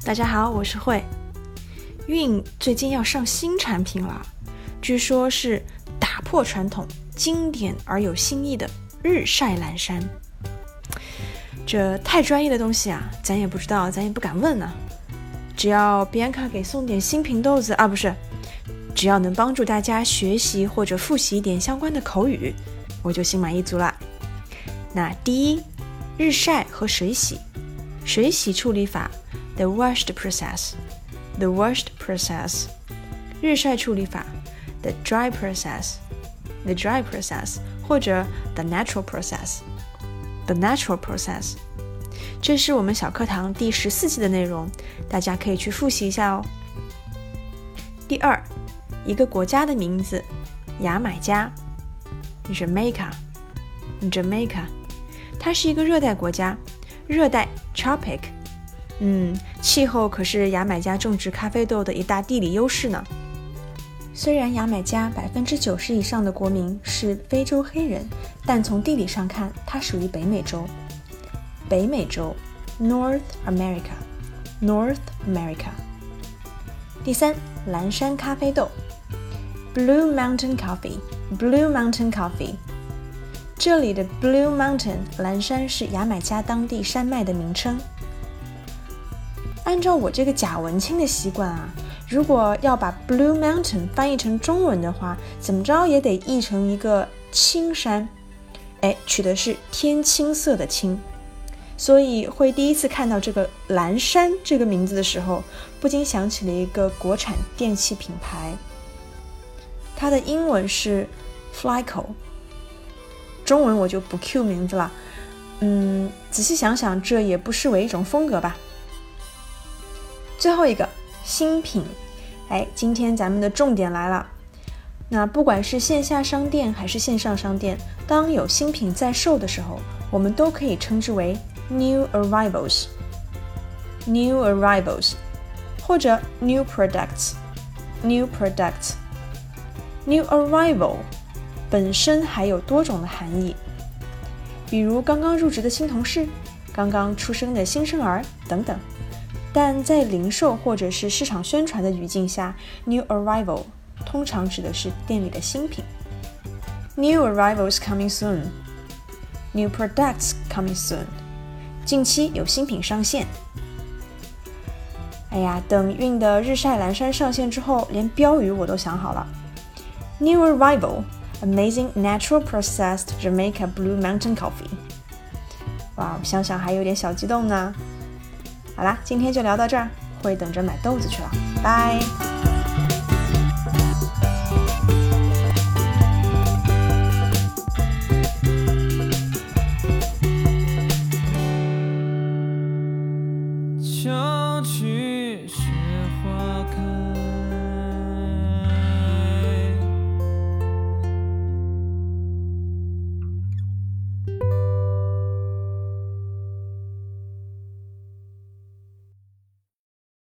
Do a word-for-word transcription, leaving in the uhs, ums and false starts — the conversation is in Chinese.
大家好，我是慧。韵最近要上新产品了，据说是打破传统、经典而有新意的日晒蓝山。这太专业的东西啊，咱也不知道，咱也不敢问呢、啊。只要比安卡给送点新品豆子啊，不是，只要能帮助大家学习或者复习一点相关的口语，我就心满意足了。那第一，日晒和水洗。水洗处理法 The washed process The washed process 日晒处理法 The dry process The dry process 或者 The natural process The natural process 这是我们小课堂第十四期的内容，大家可以去复习一下哦。第二，一个国家的名字，牙买加 Jamaica Jamaica 它是一个热带国家，热带 tropic 嗯，气候可是牙买加种植咖啡豆的一大地理优势呢。虽然牙买加 百分之九十 以上的国民是非洲黑人，但从地理上看，它属于北美洲。北美洲 North America North America 第三，蓝山咖啡豆 Blue Mountain Coffee Blue Mountain Coffee 这里的 Blue Mountain 蓝山是牙买加当地山脉的名称。按照我这个假文青的习惯啊，如果要把 Blue Mountain 翻译成中文的话，怎么着也得译成一个青山，哎，取的是天青色的青。所以会第一次看到这个蓝山这个名字的时候，不禁想起了一个国产电器品牌，它的英文是 Flyco， 中文我就不 Q 名字了。嗯，仔细想想，这也不失为一种风格吧。最后一个新品，哎，今天咱们的重点来了。那不管是线下商店还是线上商店，当有新品在售的时候，我们都可以称之为 new arrivals new arrivals 或者 new products new products new arrival 本身还有多种的含义，比如刚刚入职的新同事，刚刚出生的新生儿等等。但在零售或者是市场宣传的语境下， new arrival 通常指的是店里的新品。 New arrivals coming soon New products coming soon 近期有新品上线。哎呀，等韵的日晒蓝山上线之后，连标语我都想好了。 New arrival Amazing natural processed Jamaica Blue Mountain Coffee 哇，我想想还有点小激动呢。好啦，今天就聊到这儿，会等着买豆子去了，拜。